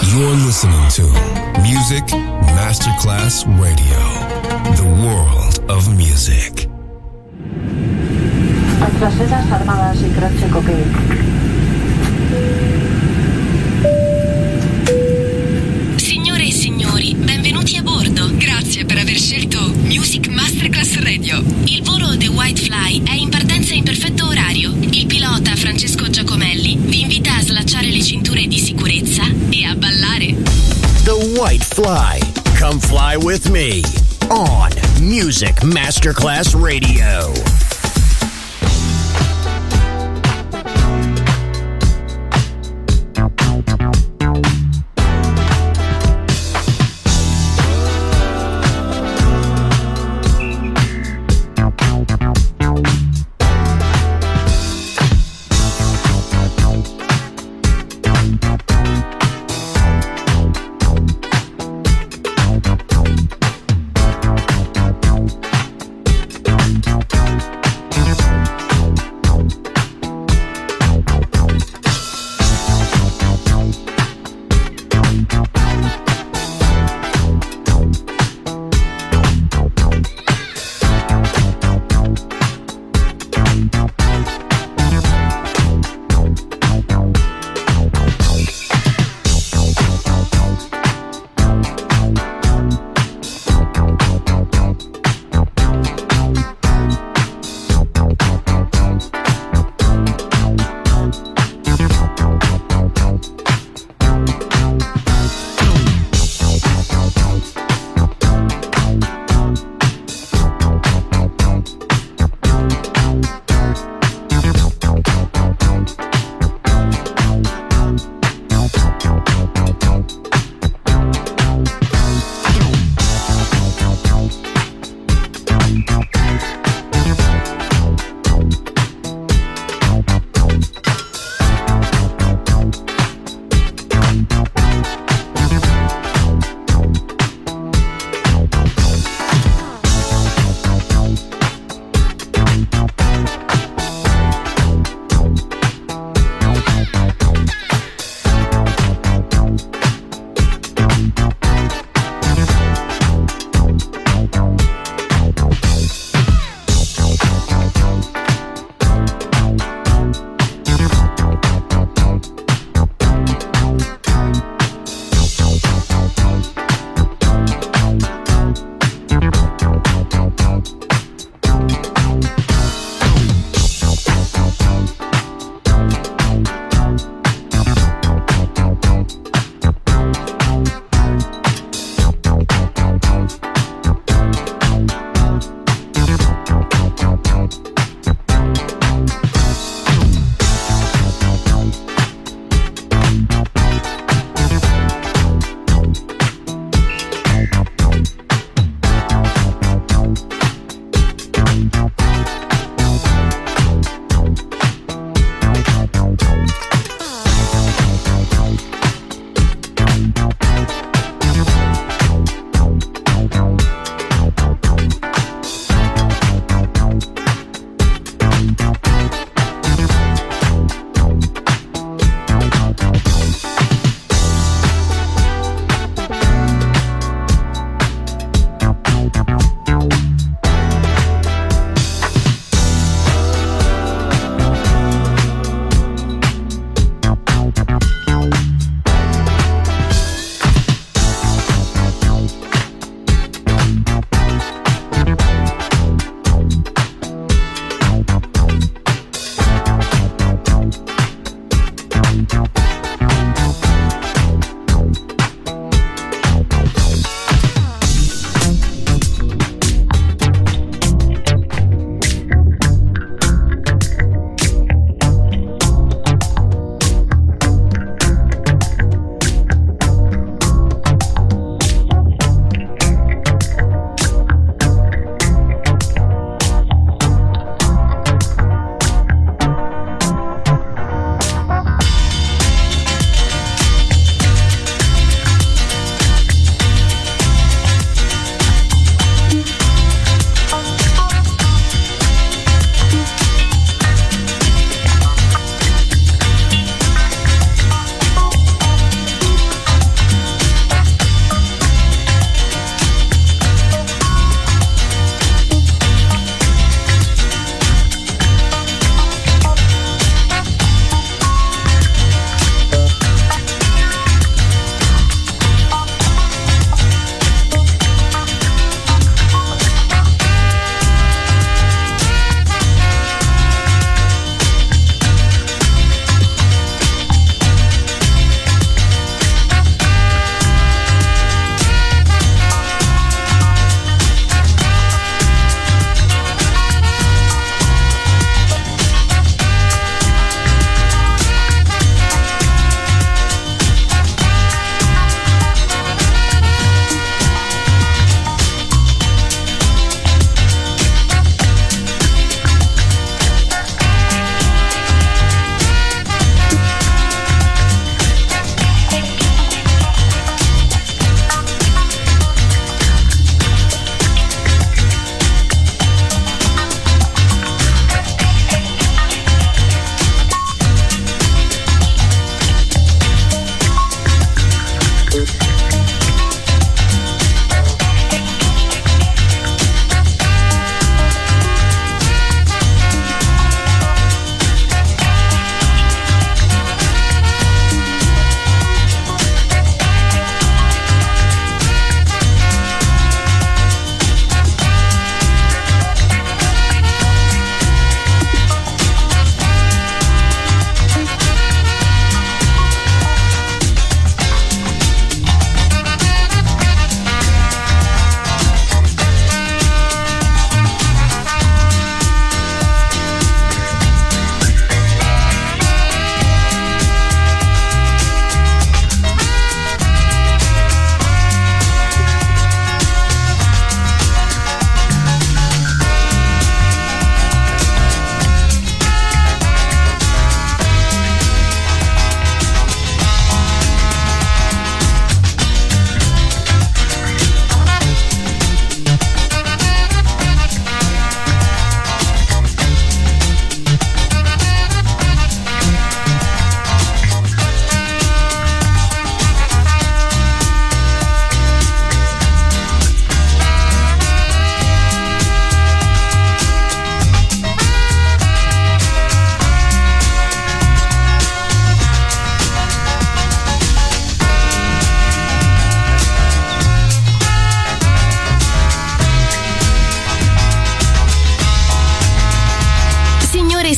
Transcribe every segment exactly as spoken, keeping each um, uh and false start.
You're listening to Music Masterclass Radio, the world of music. Francesas armadas y croce cocaine. Signore e signori, benvenuti a bordo. Grazie per aver scelto Music Masterclass Radio. Il volo The White Fly è in partenza in perfetto orario. Il pilota Francesco Giacomelli vi invita a slacciare le cinture di sicurezza e a ballare. The White Fly. Come fly with me on Music Masterclass Radio. Thank you.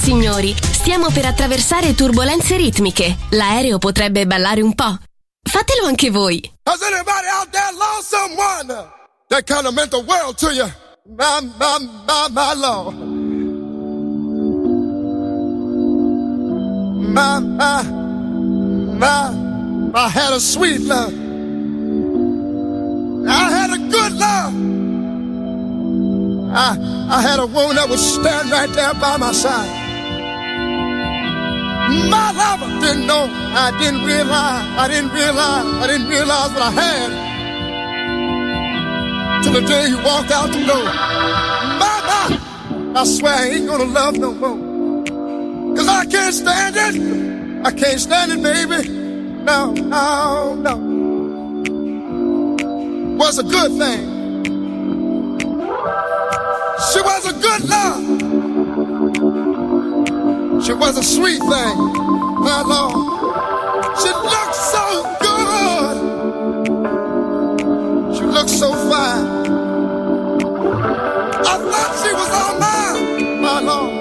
signori, stiamo per attraversare turbolenze ritmiche. L'aereo potrebbe ballare un po'. Fatelo anche voi. Has anybody out there lost someone that kind of meant the world to you? My, my, my, my Lord. My, my, my, I had a sweet love. I had a good love. I, I had a woman that would stand right there by my side. My lover didn't know, I didn't realize, I didn't realize, I didn't realize what I had till the day he walked out the door. My, my, I swear I ain't gonna love no more. Cause I can't stand it, I can't stand it, baby. No, no, no. Was a good thing. She was a good love. She was a sweet thing, my Lord. She looked so good. She looked so fine. I thought she was all mine, my Lord.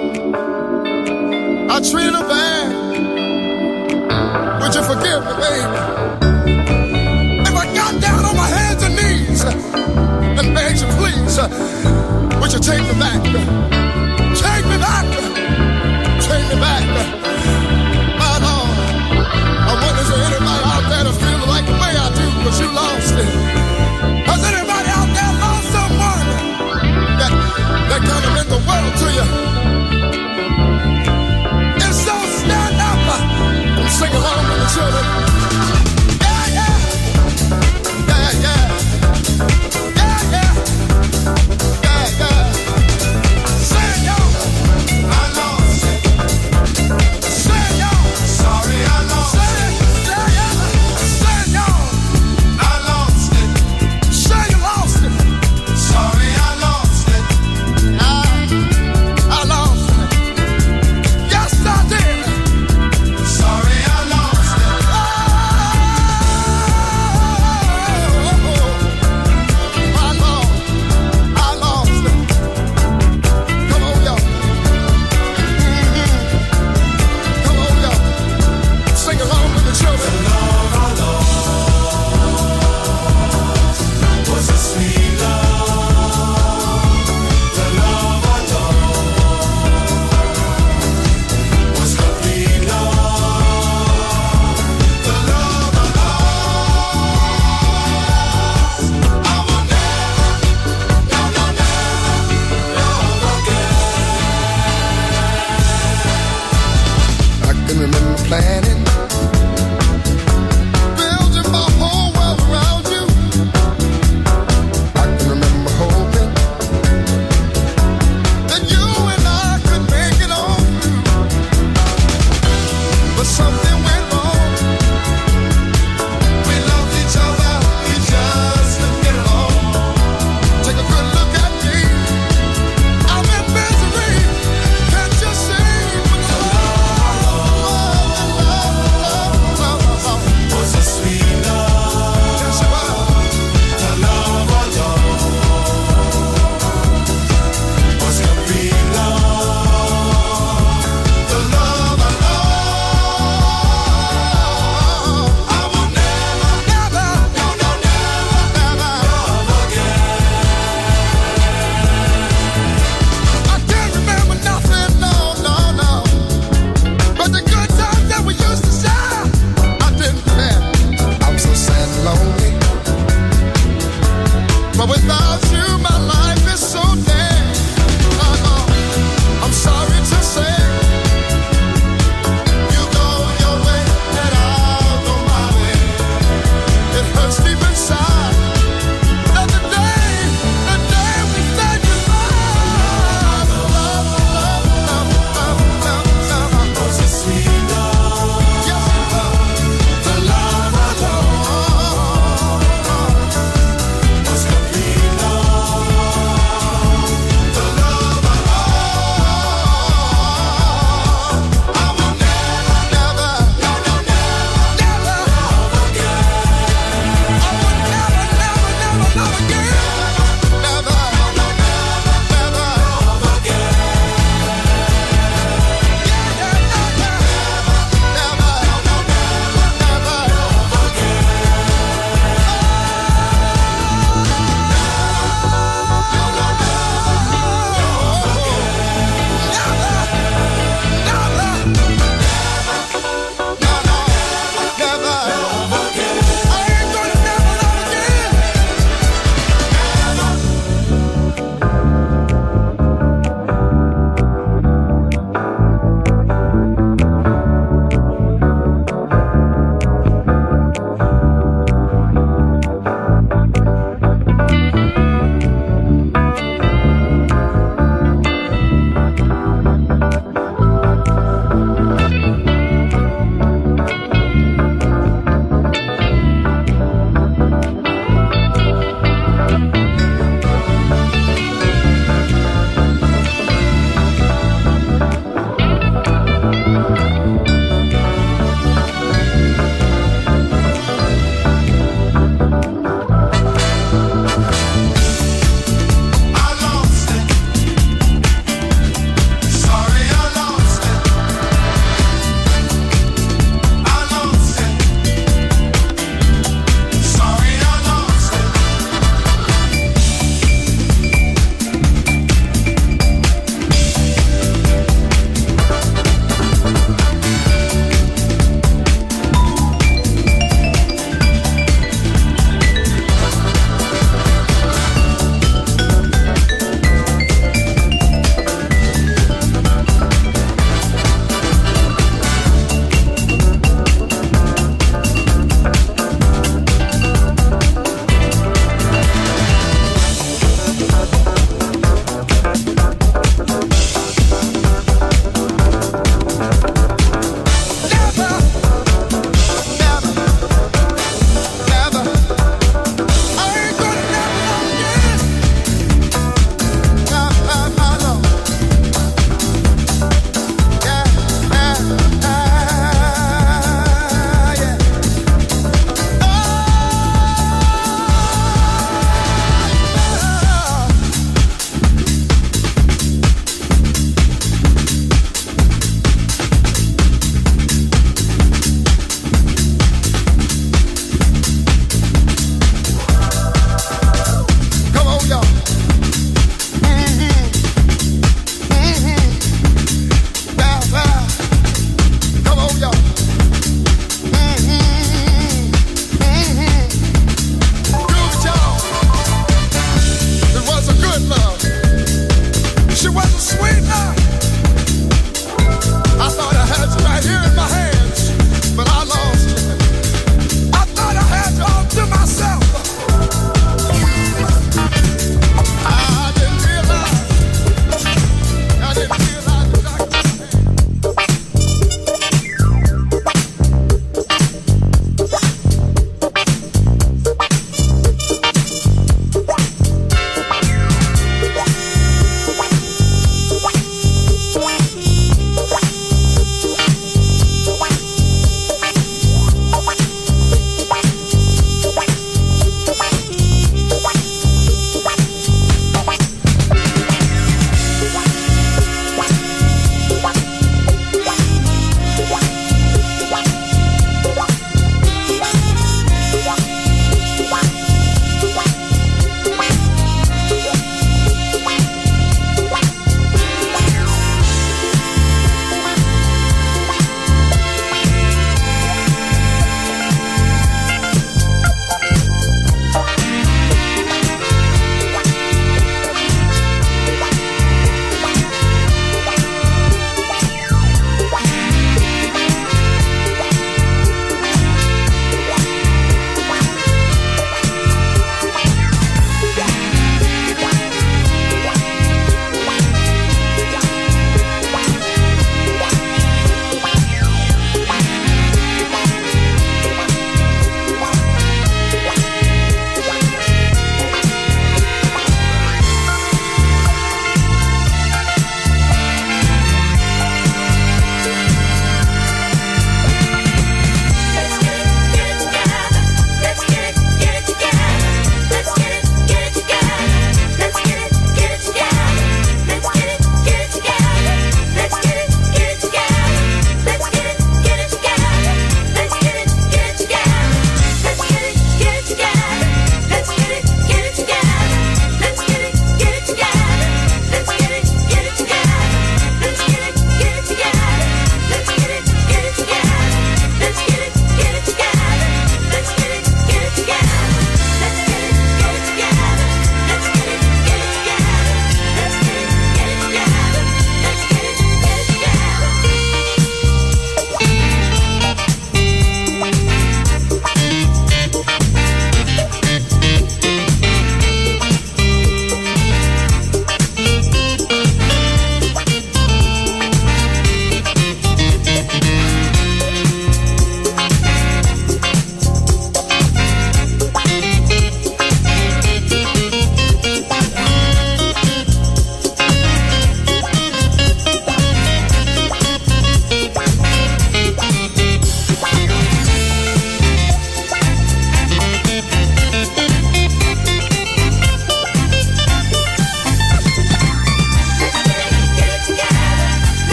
I treated her bad. Would you forgive me, baby? If I got down on my hands and knees and begged you, please, would you take me back? Take me back. Take me back. My Lord, I wonder is there anybody out there that feels like the way I do, but you lost it. Has anybody out there lost someone that, that kind of meant the world to you? If so, stand up and sing along with the children. Yeah, yeah. Yeah, yeah. Yeah, yeah. Yeah, yeah. Sing, y'all. My Lord.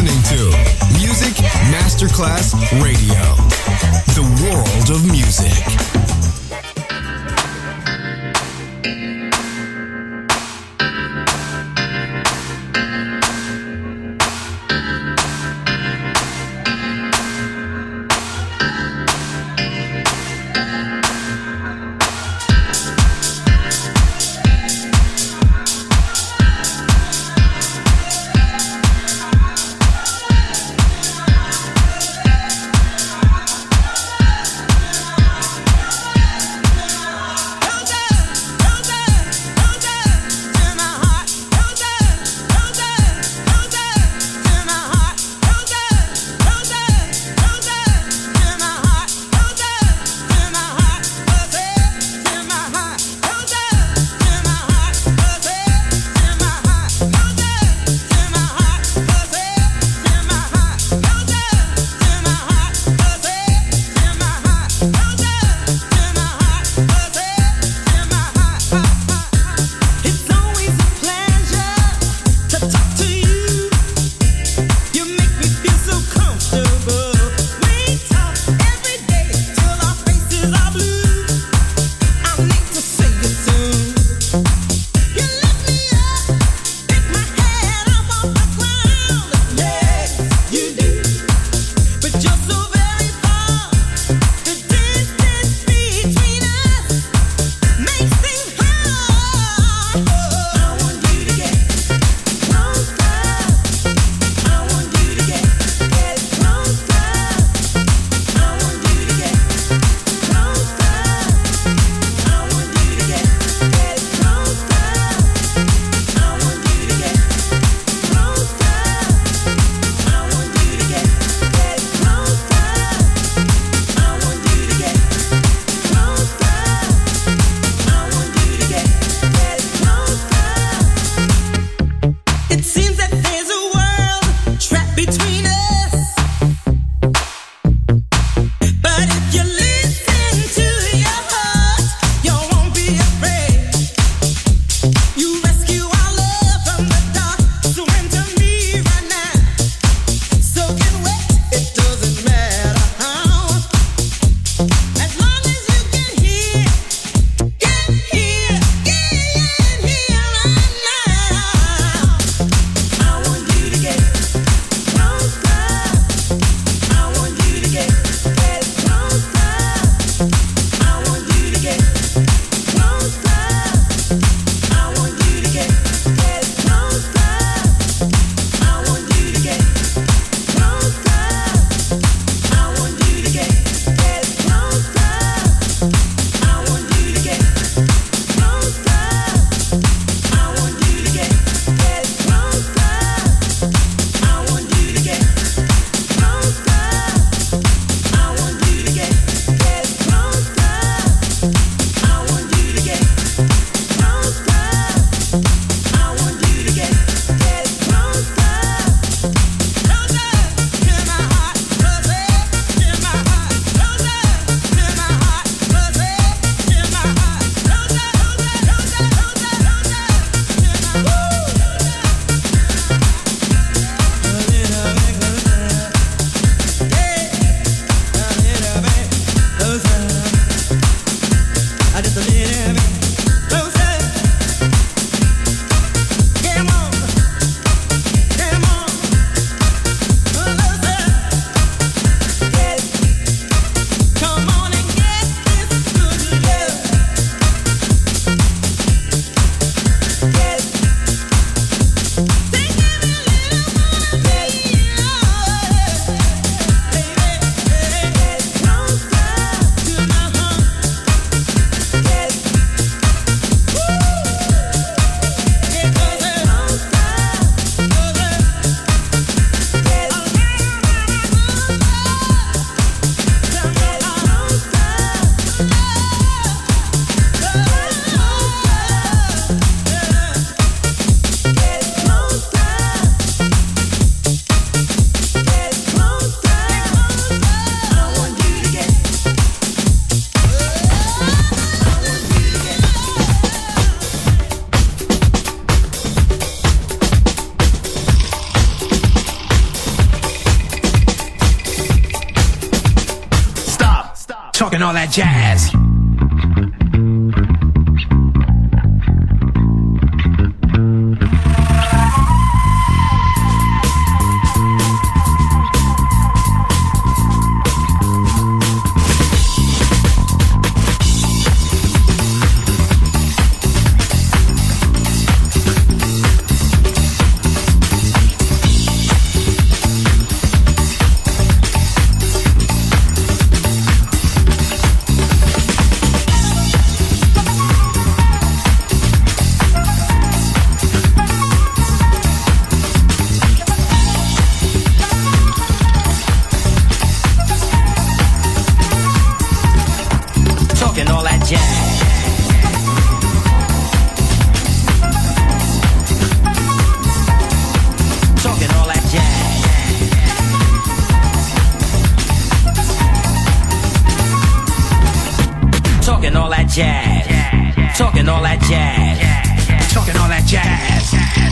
listening to Music Masterclass Radio, the world of music. talking all that jazz. Jazz, talking all that jazz, talking all that jazz.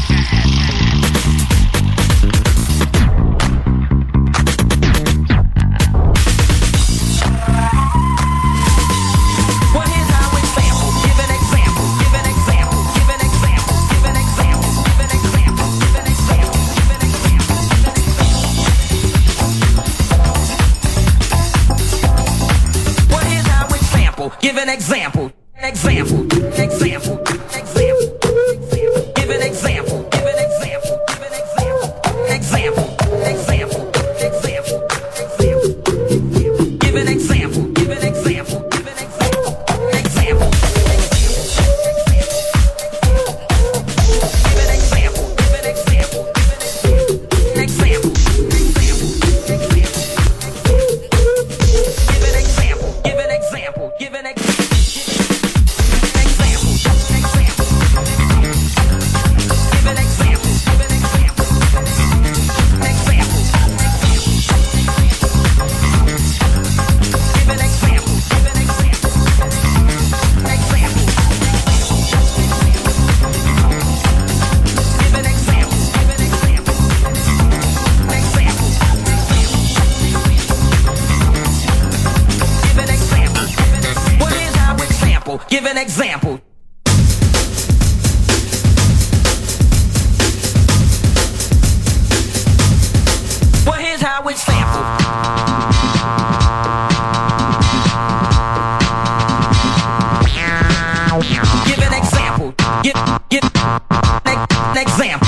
Well, here's how we sample. Give an example. Give an example. Give an example. Give an example. Give an example. Give an example. Give an example. Well, here's how we sample. Give an example. Example, example, example, give an example, give an example, give an example, example, example, example, give an example, give an example, give an example, example, give an example, give an example, example, give an example, give an example, give an example. Give an example. Well, here's how we sample. Give an example. Give, give an example.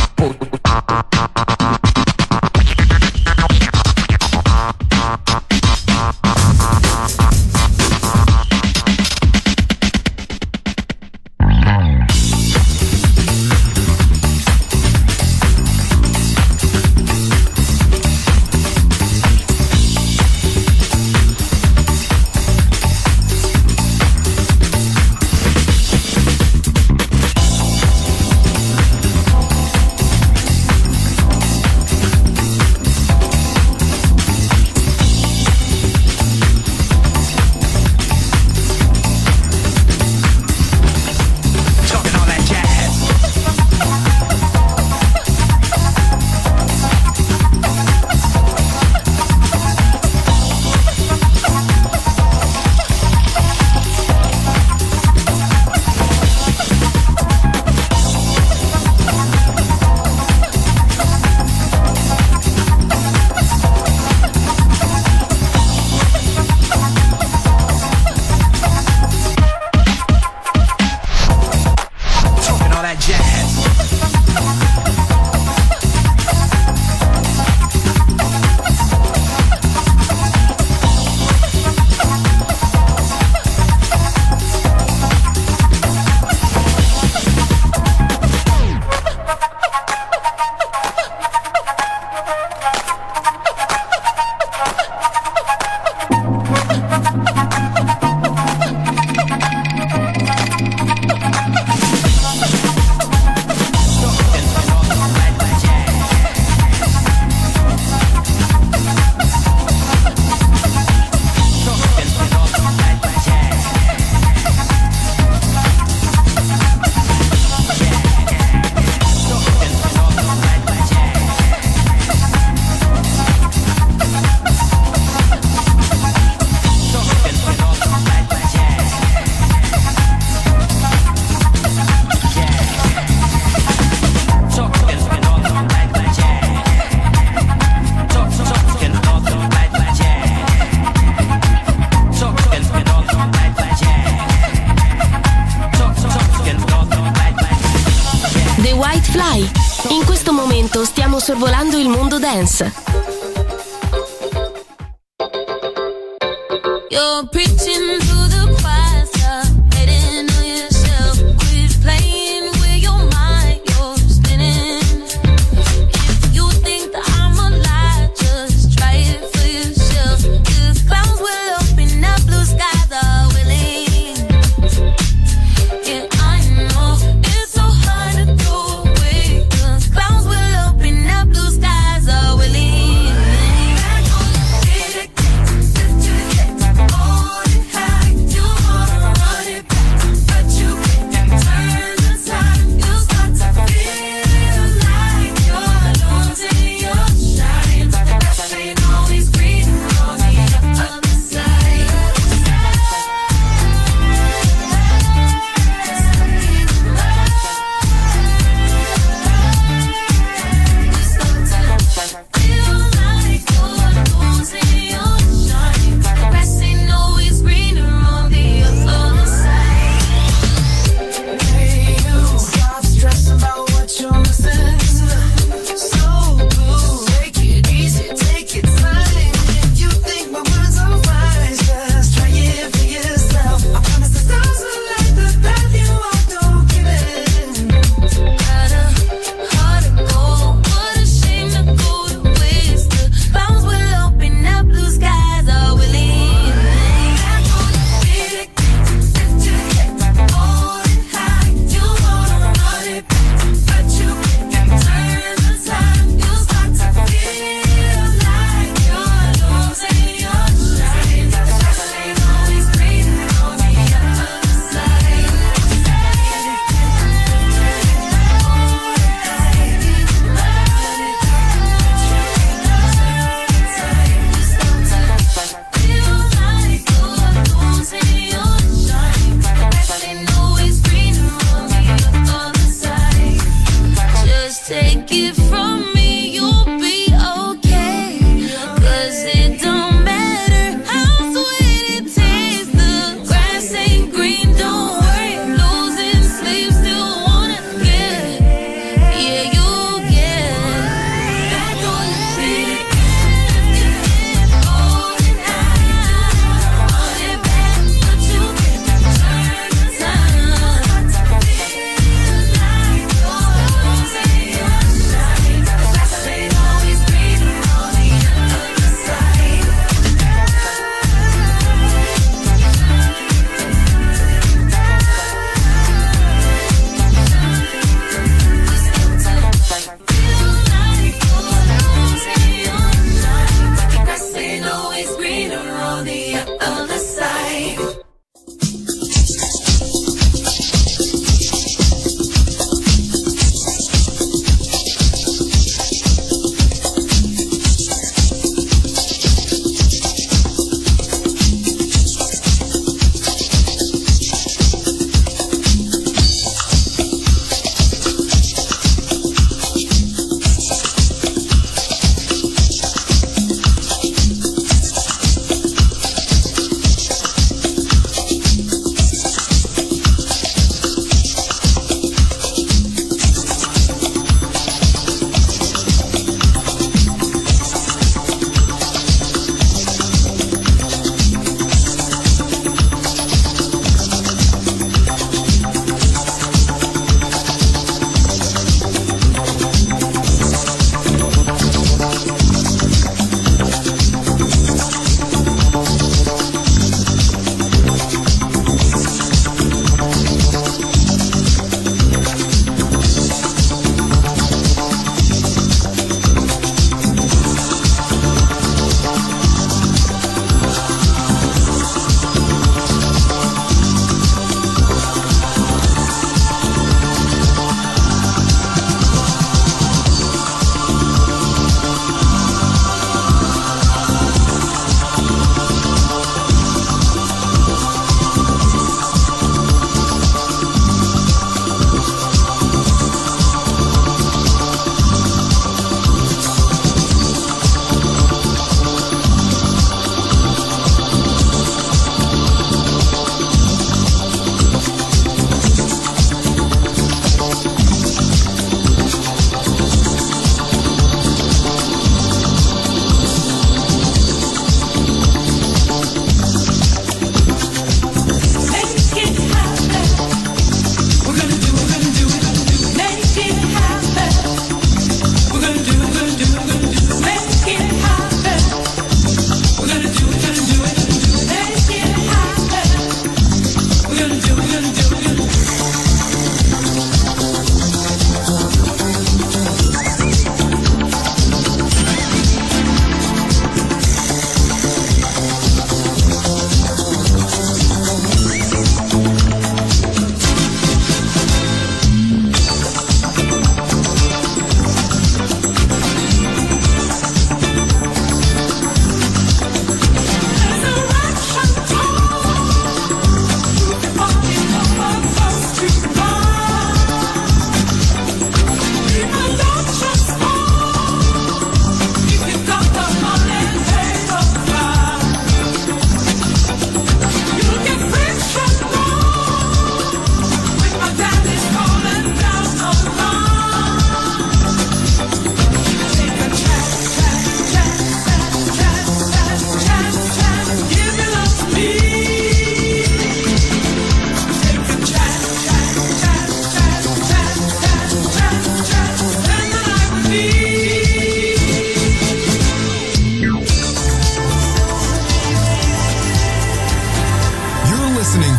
sorvolando il mondo dance. You're preaching to the choir, stop betting on yourself. Quit playing with your mind, you're spinning. If you think that I'm a lie, just try it for yourself. The clouds will open up, blue skies are willing. Yeah, I know it's so hard to throw away. The clouds will open up, blue skies are willing. Back on the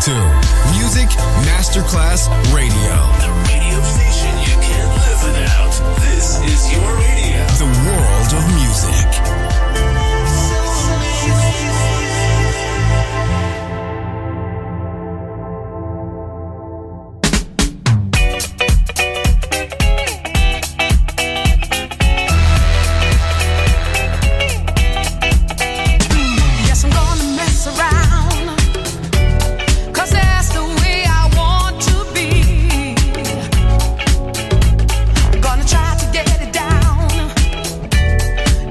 to Music Masterclass Radio. The radio station you can't live without. This is your radio. The world of music. Gonna try to get it down.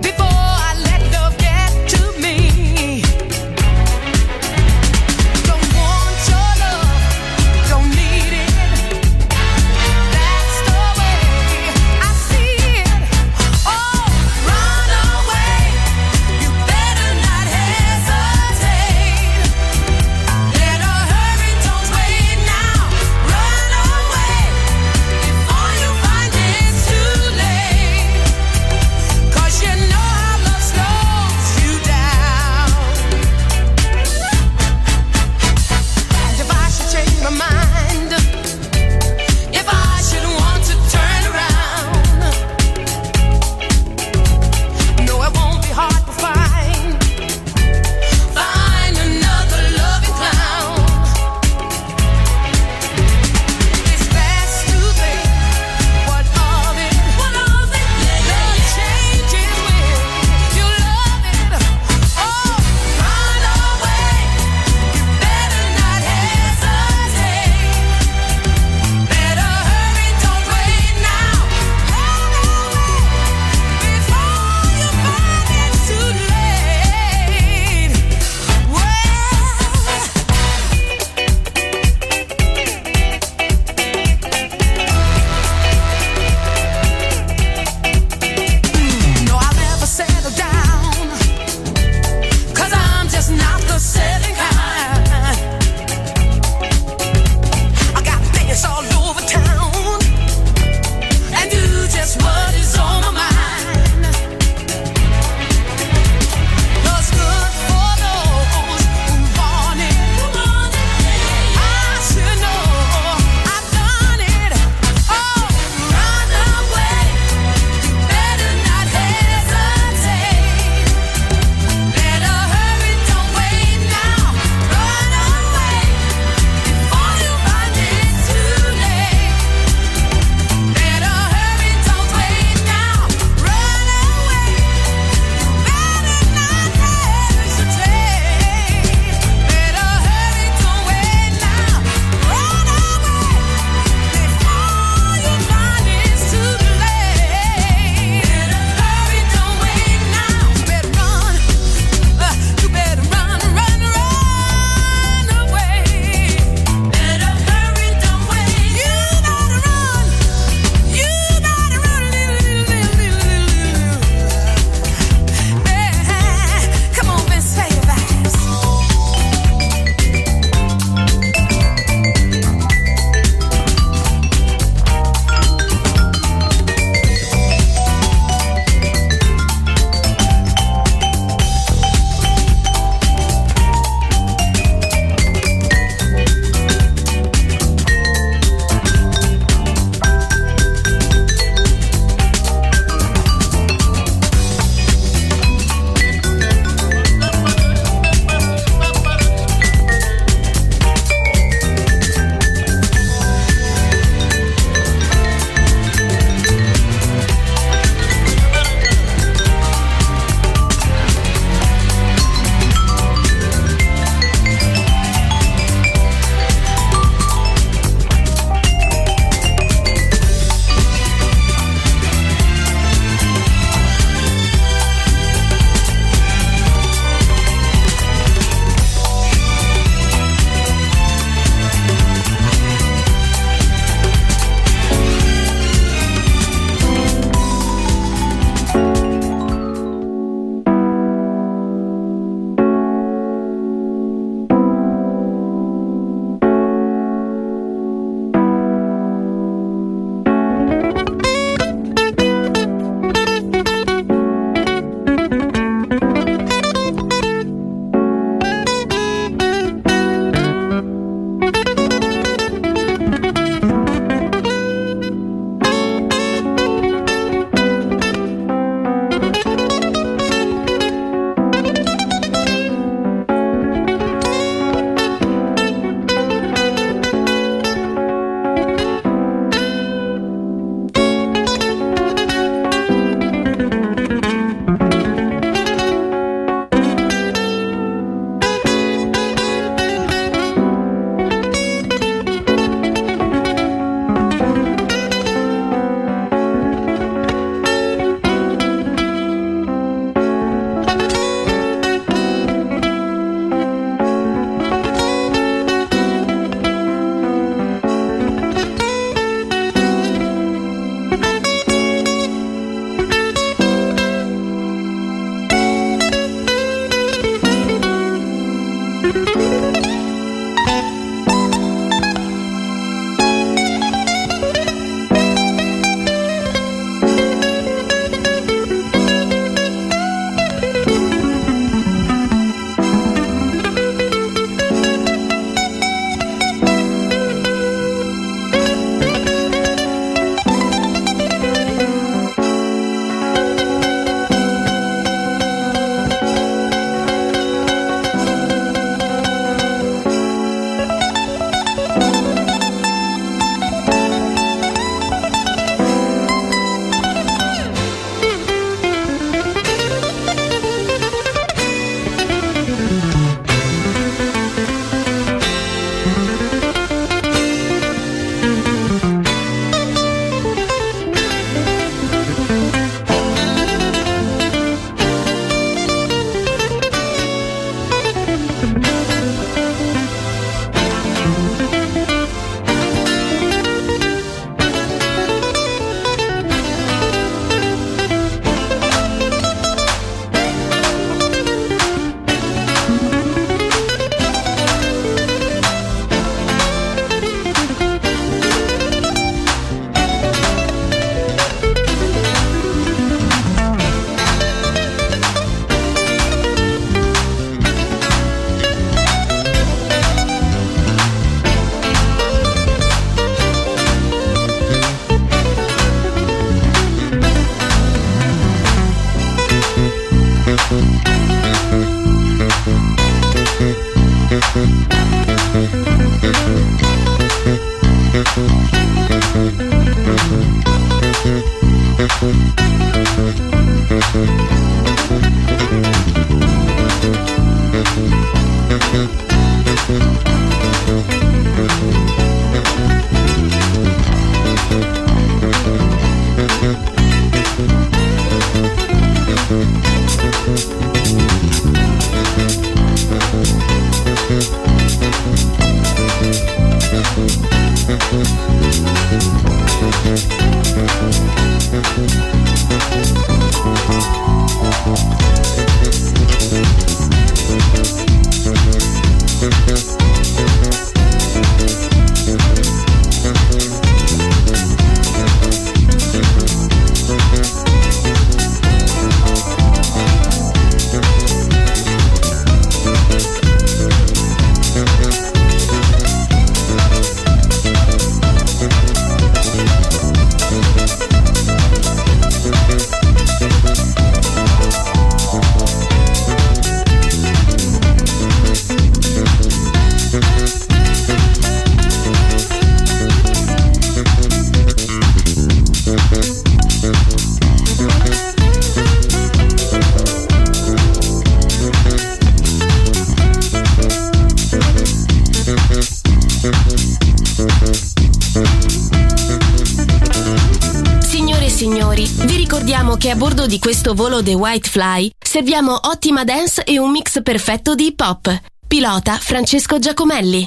Che a bordo di questo volo The White Fly serviamo ottima dance e un mix perfetto di hip hop. Pilota Francesco Giacomelli.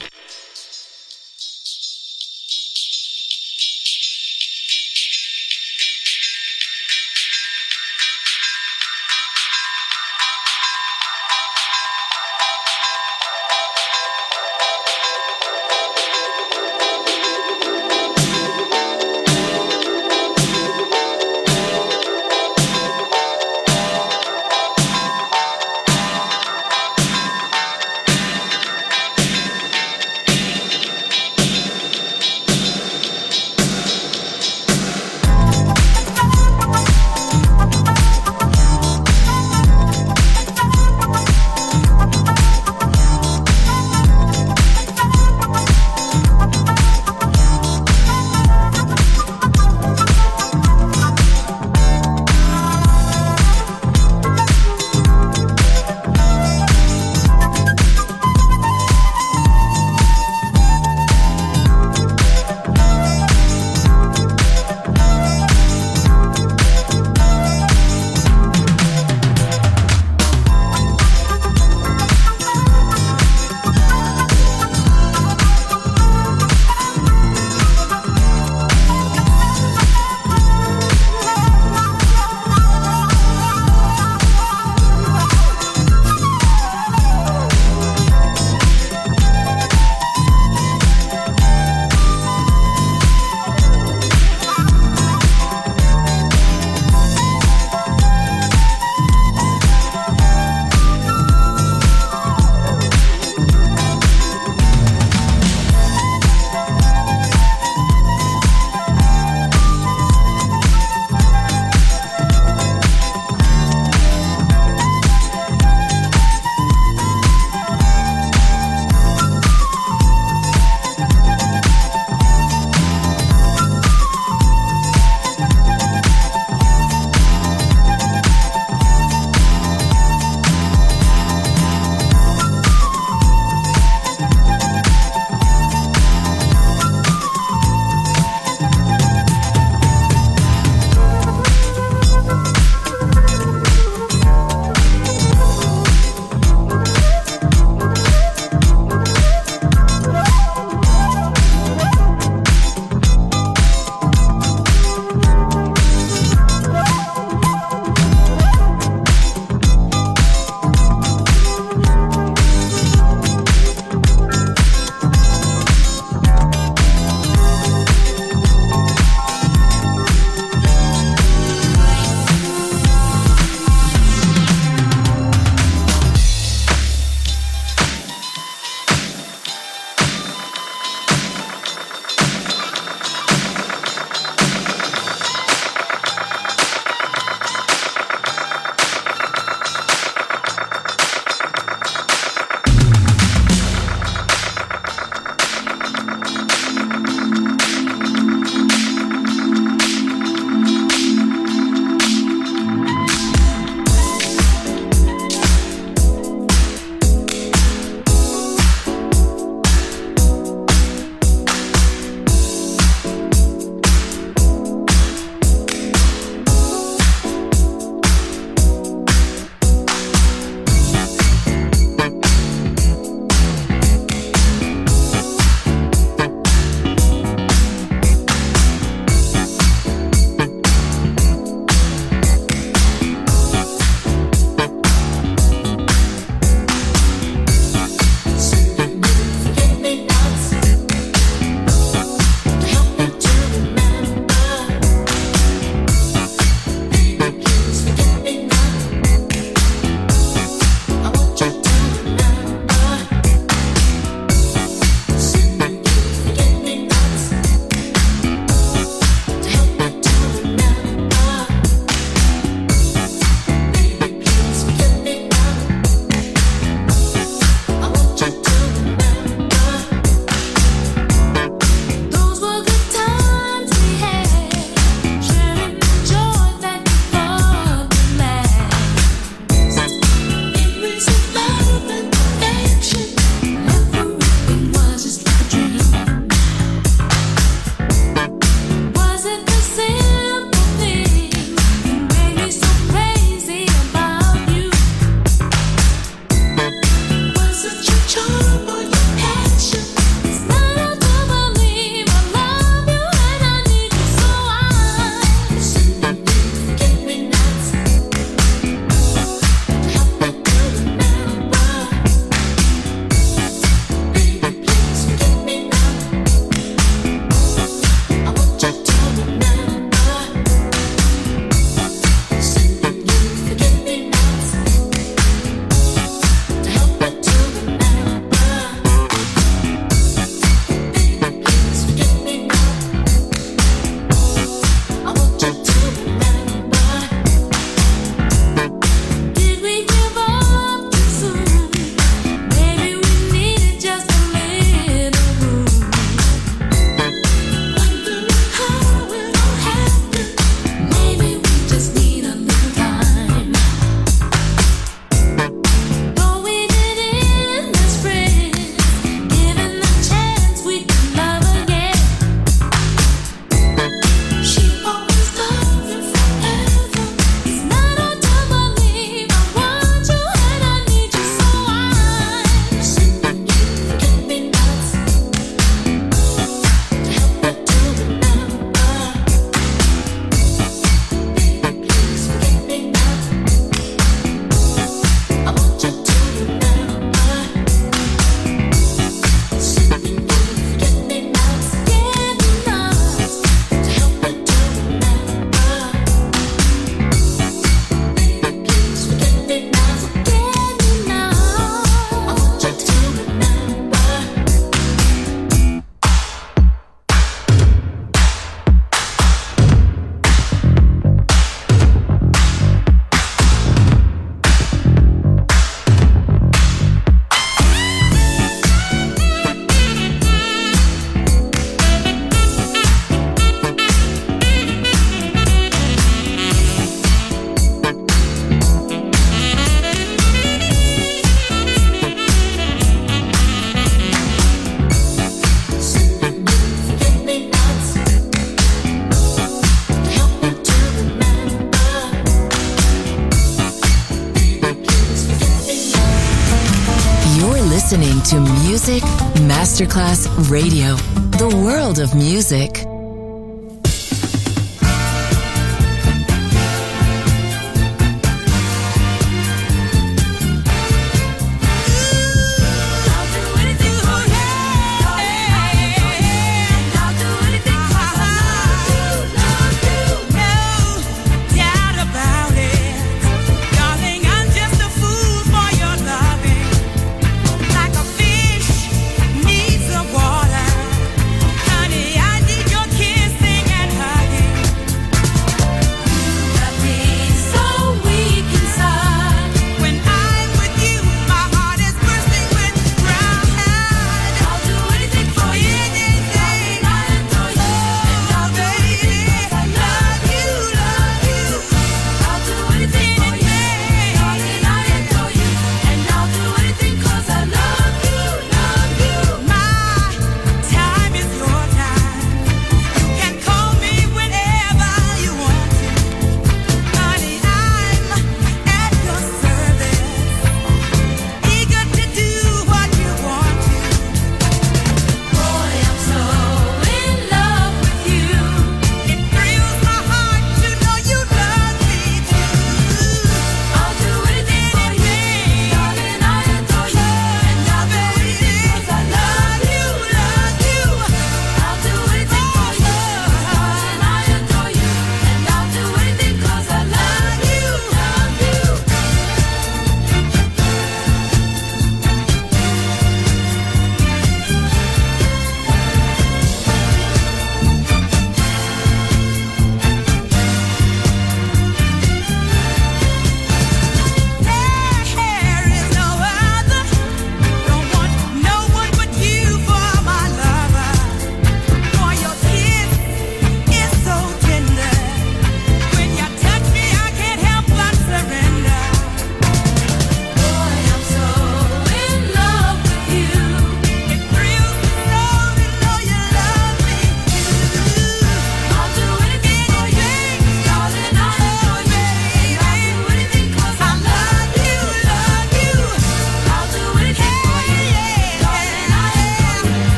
listening to Music Masterclass Radio, the world of music.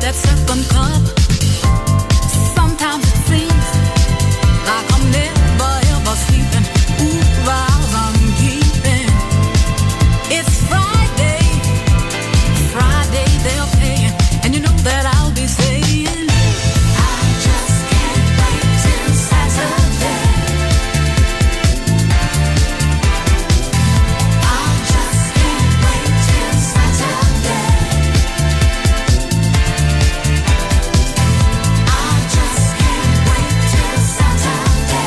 that second cup. Sometimes it seems like I'm never ever sleeping. Ooh, vows I'm keeping. It's Friday, Friday they're paying, and you know that I'll be saying, I just can't wait till Saturday. I just can't wait till Saturday. I just can't wait till Saturday.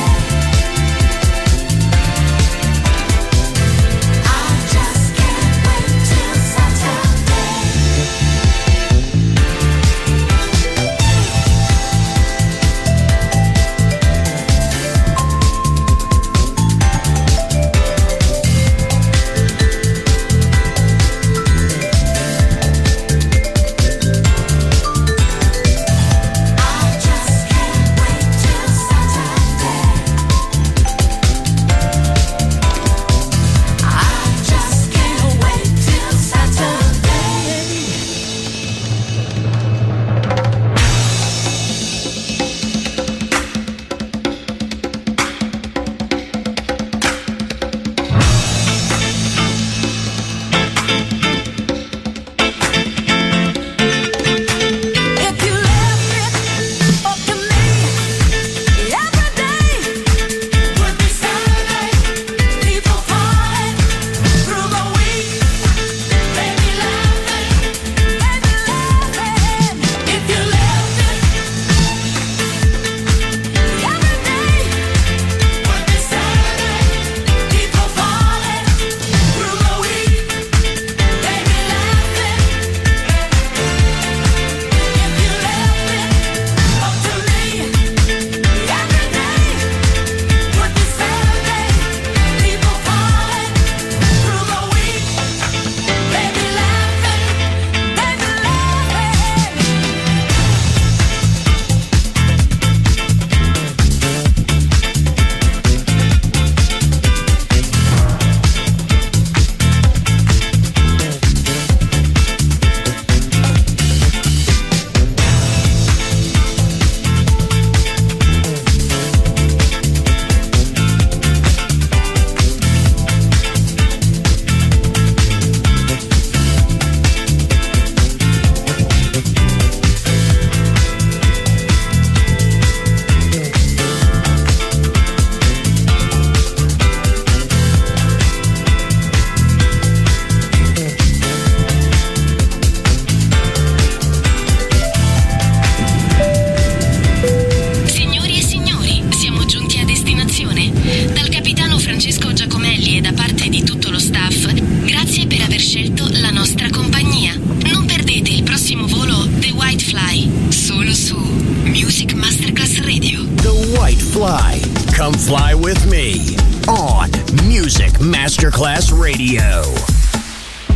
I just can't wait till Saturday. I just can't wait till Saturday. I just can't wait till Saturday. If you left it up to me, every day would be Saturday. People party through the week, baby laughing, baby laughing. If you left it, every day would be Saturday. People party through the week, baby laughing. If you left it up to me, every day would be Saturday. People party through the week, baby laughing, baby Signori e signori, siamo giunti a destinazione. Dal capitano Francesco Giacomelli e da parte di tutto lo staff, grazie per aver scelto la nostra compagnia. Non perdete il prossimo volo The White Fly, solo su Music Masterclass Radio. The White Fly. Come fly with me on Music Masterclass Radio.